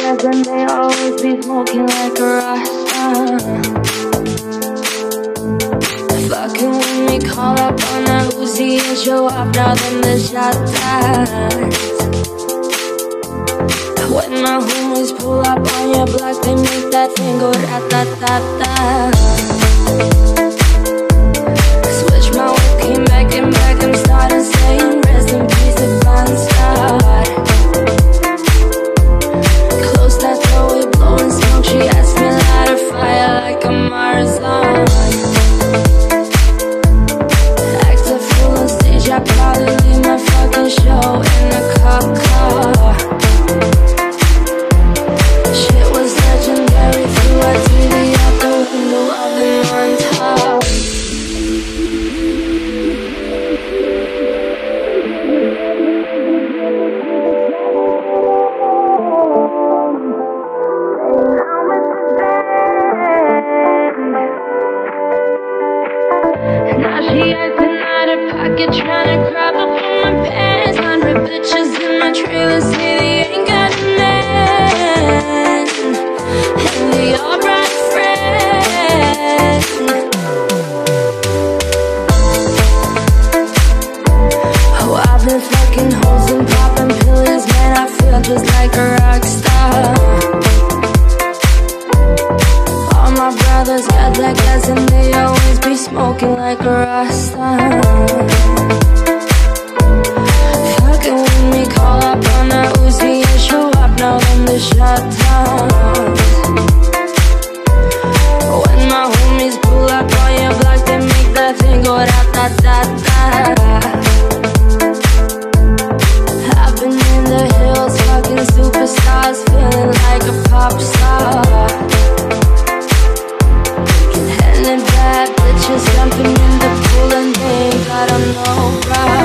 gas and they always be smoking like a Rasta. Fucking with me, call up on a Uzi and show up, now then the shot dies. When my homies pull up on your block, they make that thing go rat-tat-tat-tat. Switch my whip, came back and back, I'm starting saying rest in peace to Bon Scott. Close that door, we blowing smoke, she asked me light a fire like a Marathon. Act a fool on stage, I probably leave my fucking show in a cop car. Shit was legendary, threw our TV out the window of the montage. Now she acting out of pocket, tryna grab up on my pants. 100 bitches in my trailer say they ain't got a man, and they all brought friends. Oh, I've been fucking hoes and popping pills, man, I feel just like a rock star. All my brothers got that gas and they always be smoking like a Rasta. Fucking with me, call up on a Uzi and show up, now then the shot downs. When my homies pull up on your block, they make that thing go rat-tat-tat-tat. I've been in the hills, fucking superstars, feeling like a pop star. And bad bitches jumping in the pool and they ain't got on no bra.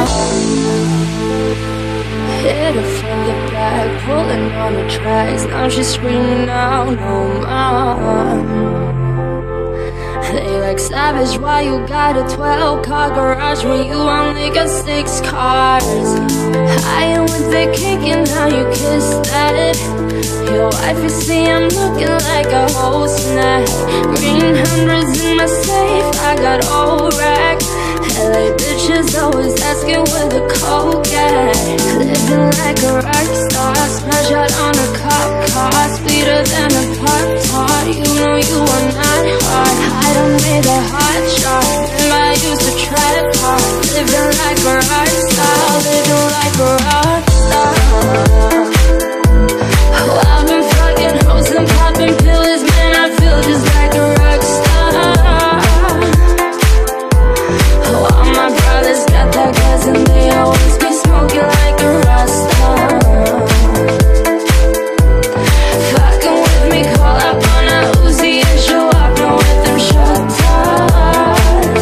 Hit her from the back, pulling on the tracks. Now she's screaming out no more. They like savage, why you got a 12-car garage when you only got 6 cars? I am with the cake and how you kiss that. Your wife, you see I'm looking like a whole snack. Green hundreds in my safe, I got old rack. LA bitches always asking where the coke at. Living like a rock star, smash out on a cop car, sweeter than a Pop-Tart. You know you are not hard, I done made a hot shot. Remember I used to trap hard. Living like a rock star, living like a rock star. Oh, I've been fucking hoes and popping pills, man, I feel just like a rock star. Oh, all my brothers got that gas and they always be smoking like a Rasta. Fucking with me, call up on a Uzi and show up, now with them shot toss.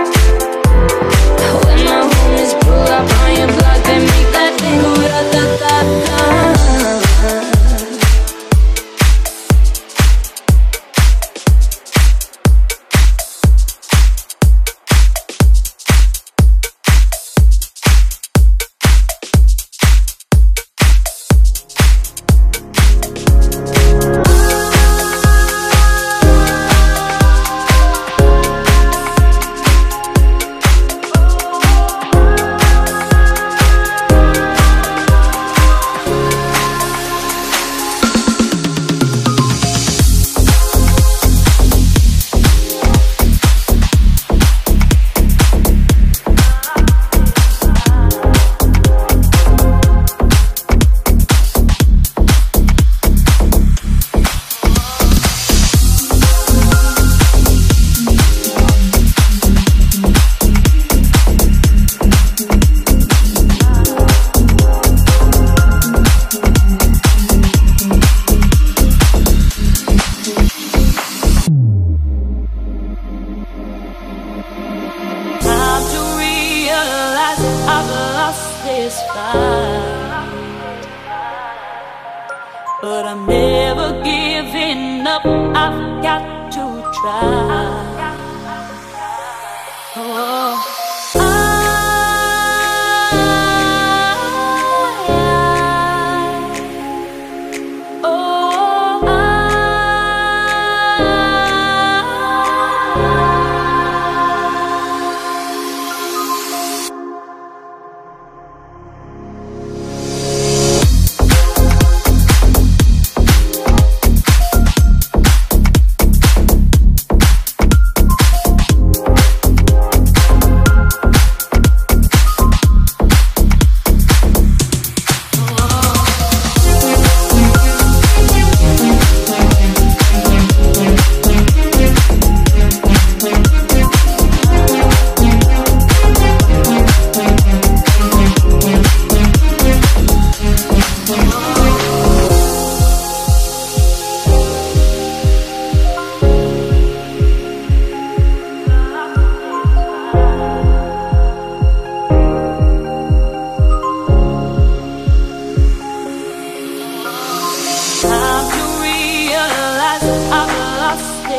When my homies pull up on your block, they make that thing go da-da-da-da.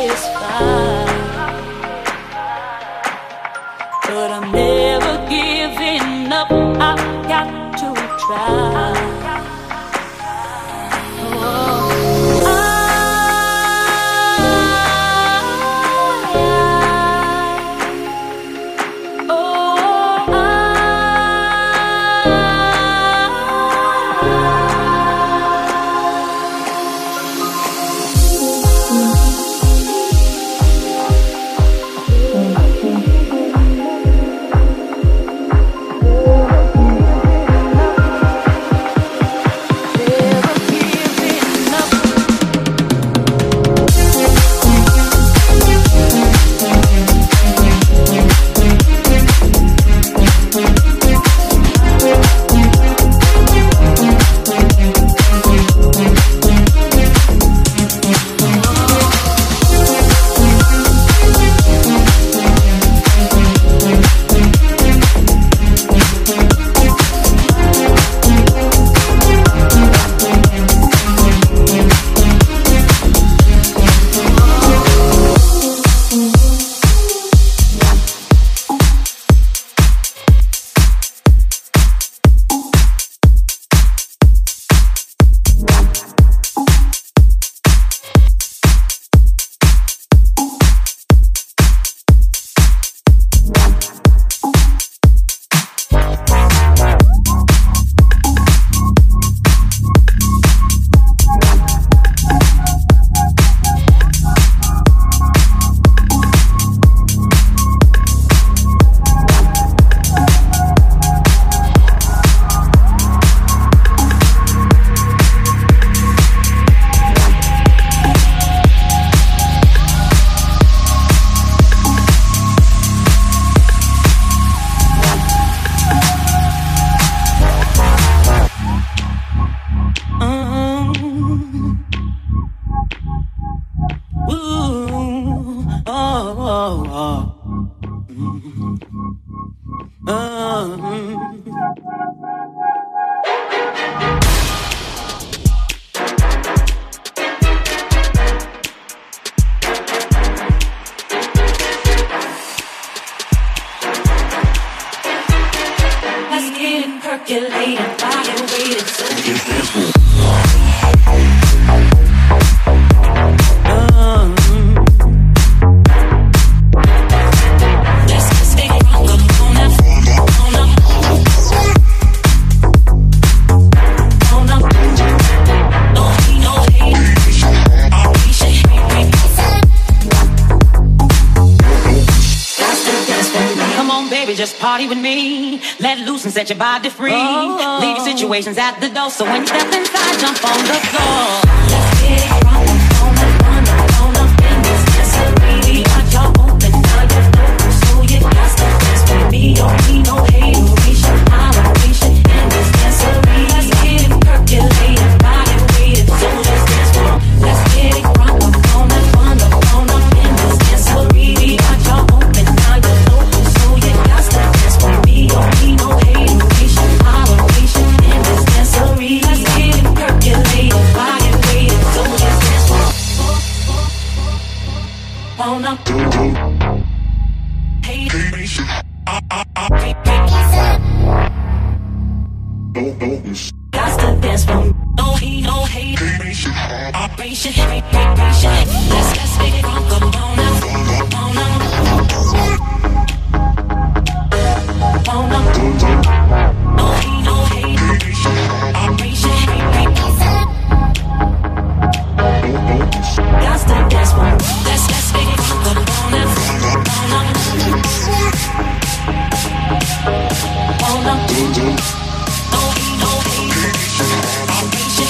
satisfied, but I'm never giving up. I've got to try. Set your body free. Leave your situations at the door. So when you step inside, jump on the floor. Let's get it wrong. On up in this dancery. We got y'all open, now you're open. So you got to dance with me. Don't need no hateration, holleration in this dancery. Let's get it percolated, body weighted. So just dance for them. Let's get it wrong. On up in this dancery. We got y'all open, now you're open. So you got to dance with me. Don't need no hateration. Let's get it percolated, body weighted, so just dance for on up. Hey, got to dance for no hate, no hate. Operation, let's make it wrong, come on up, on up. On up. No hate, no hate. Operation, got to dance for let's make it wrong, come on up, on up. On up. No hate, no hate. Operation,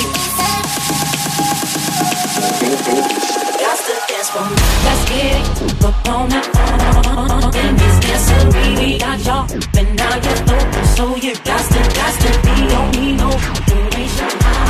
got to dance for let's get it on up. In this dancery, we got y'all, but now you're open, so you got to be. Don't need no duration.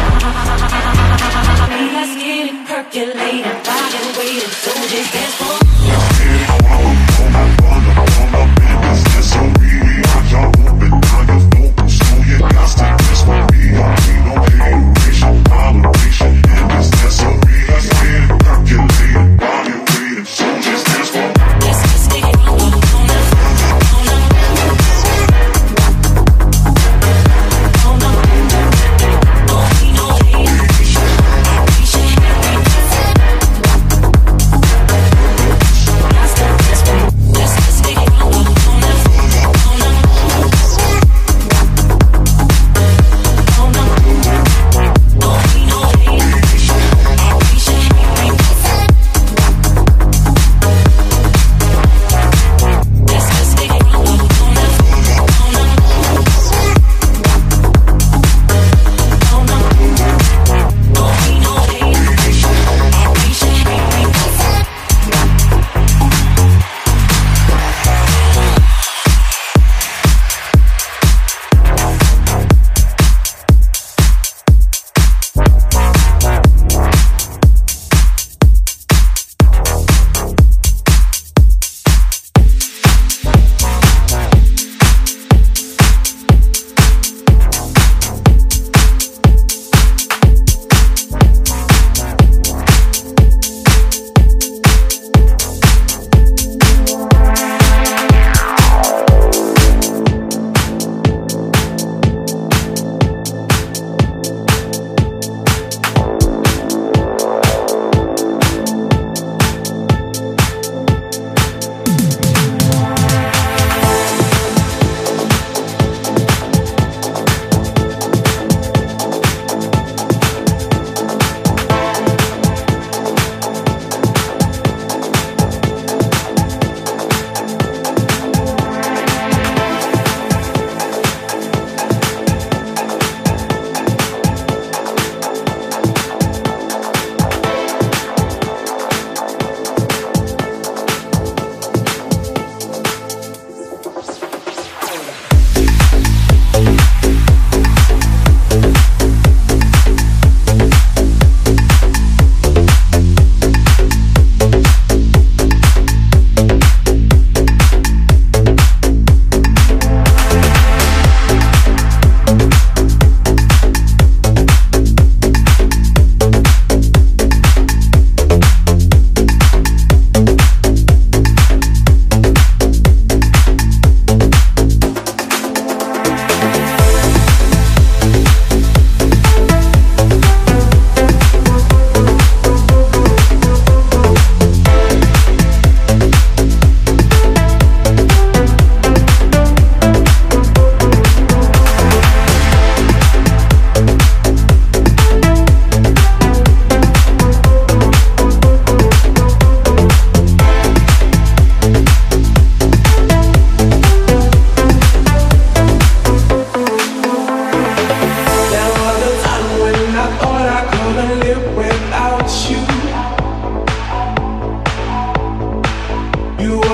Let's get it percolated, body weighted, so just dance for. Let's get it on up in this dancery. We got y'all open, now you're open, so you got to dance for me. Don't need no duration, holleration in this dancery. Let's get it percolated, body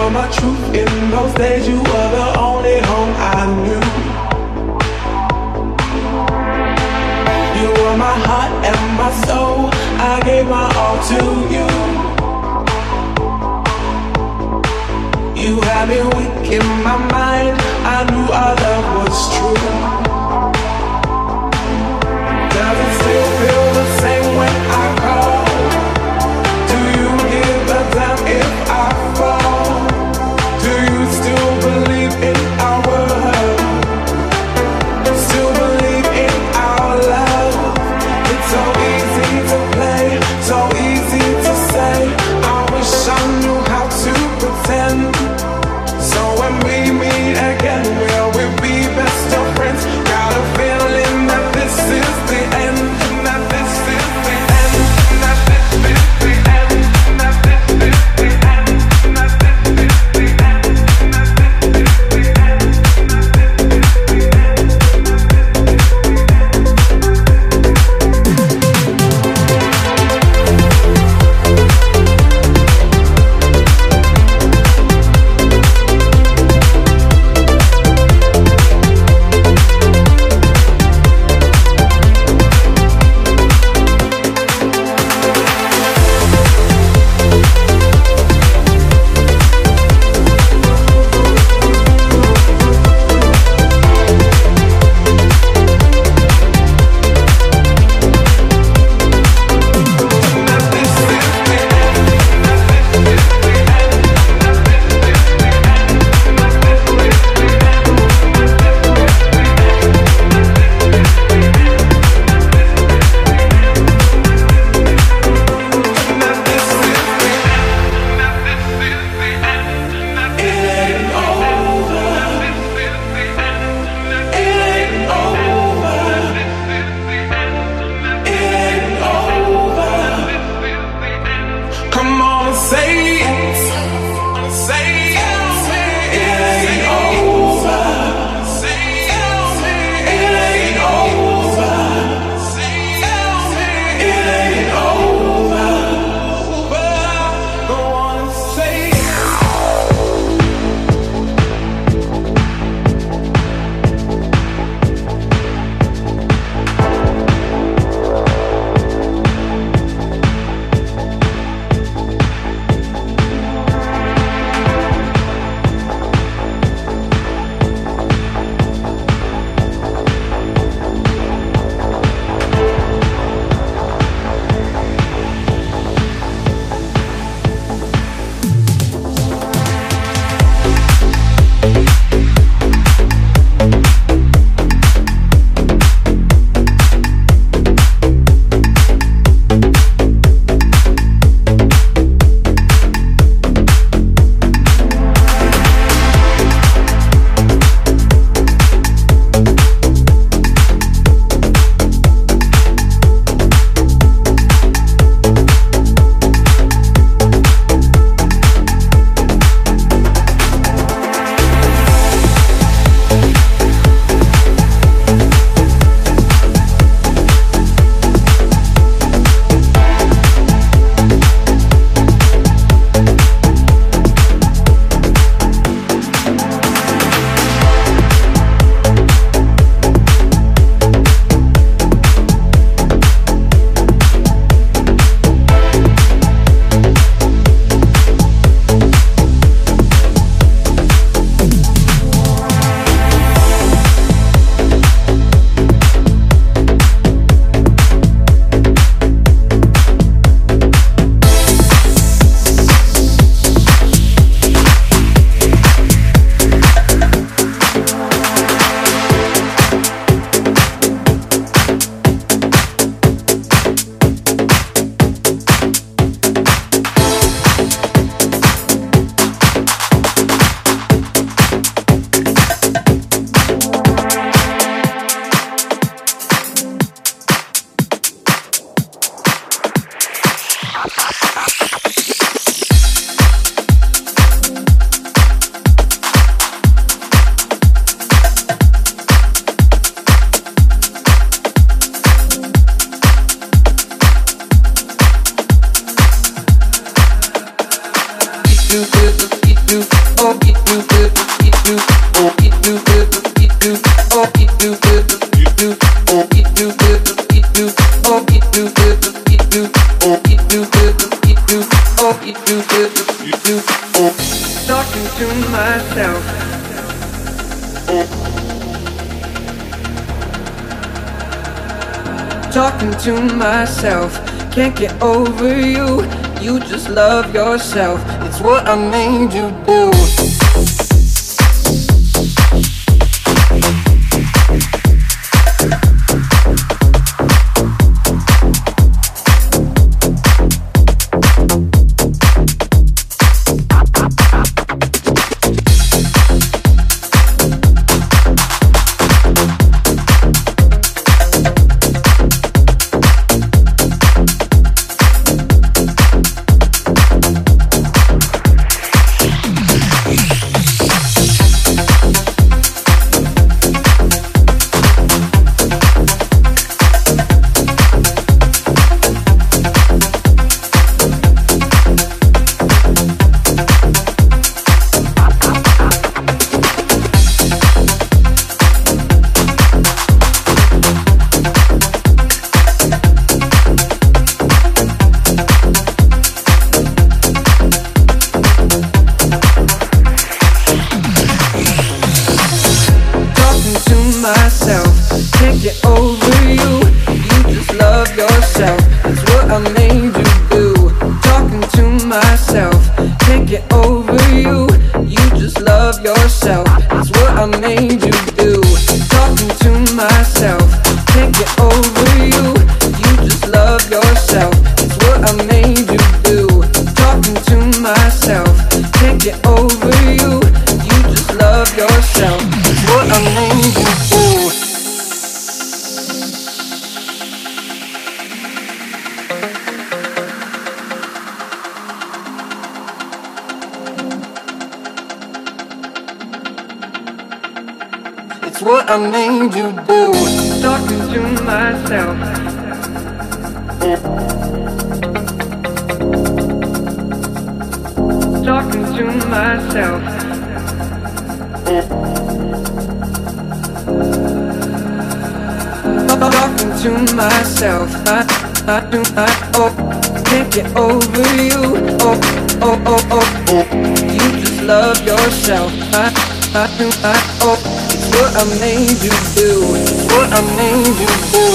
were my truth in those days. You were the only home I knew. You were my heart and my soul. I gave my all to you. You had me weak in my mind. I knew our love was true. Does it still feel the same when I call? Do you give a damn if I fall? Do you still believe in our world? Still believe in our love? It's so easy to play, so easy to say. I wish I knew how to pretend. So when we meet again, will we be best of friends? Got a feeling that this is the end, that this is the end, that this is the end, that this is the end, that this is the end, that this is the end. you Talking to myself. Talking to myself. Can't get over you. You just love yourself. It's what I made you do. It's what I made you do. Talking to myself. Talking to myself. Talking to myself. Can't get over you. You just love yourself. It's what I made you do. It's what I made you do.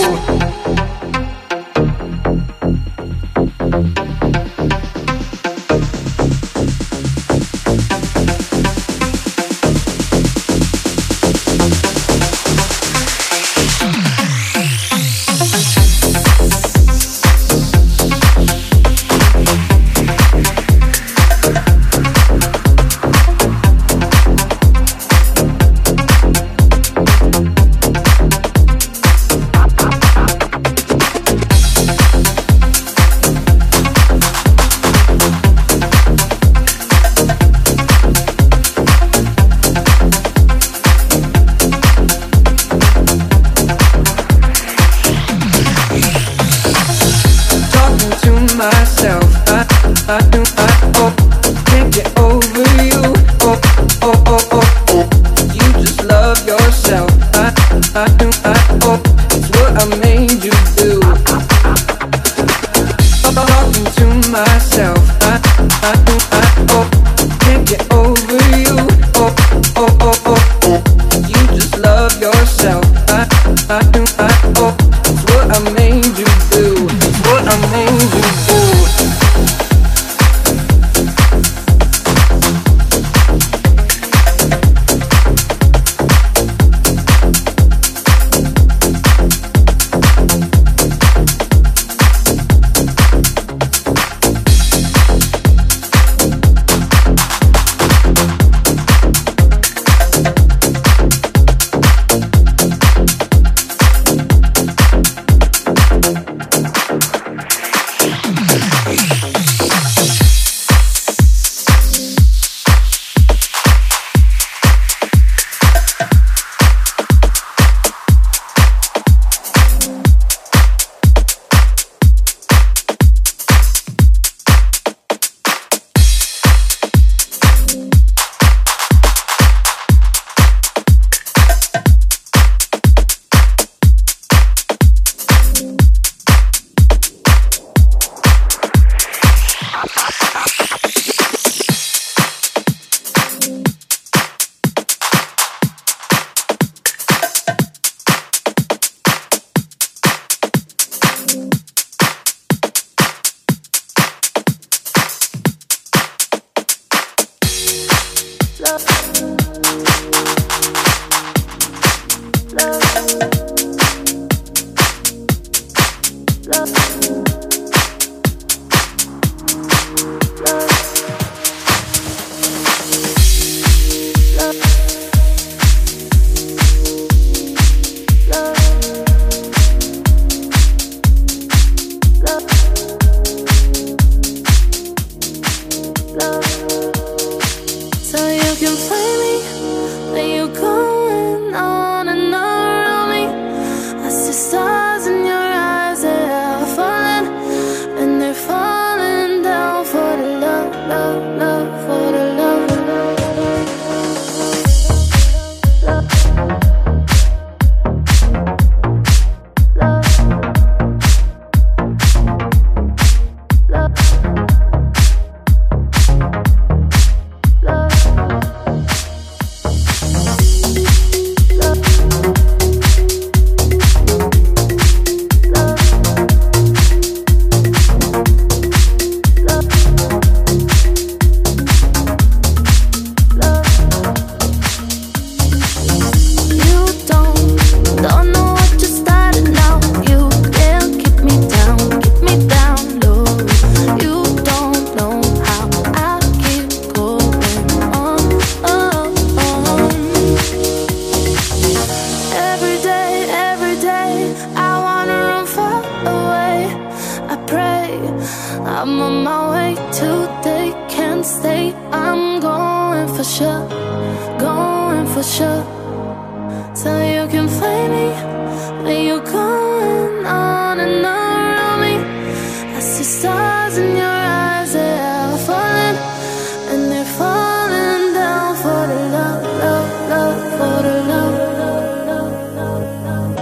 Can't get over you. You just love yourself. It's what I made you do. Talking to myself. Can't get over you. You just love yourself. It's what I made you do. It's what I made you do. I'm on my way to they can't stay. I'm going for sure, going for sure. So you can find me when you're going on and around me. I see stars in your eyes, they are falling, and they're falling down for the love, love, love, for the love, love, love, love, love.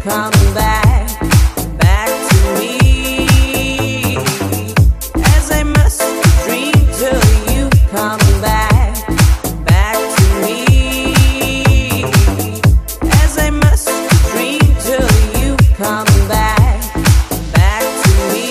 coming back, back to me. As I must dream till you coming back, back to me. As I must dream till you coming back, back to me.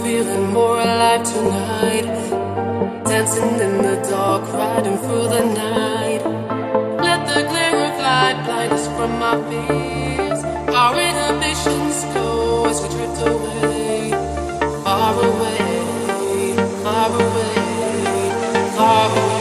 feeling more alive tonight. Dancing in the dark, riding through the night. Let the glare of light blind us from our fears. Our inhibitions go as we drift away. Far away, far away, far away.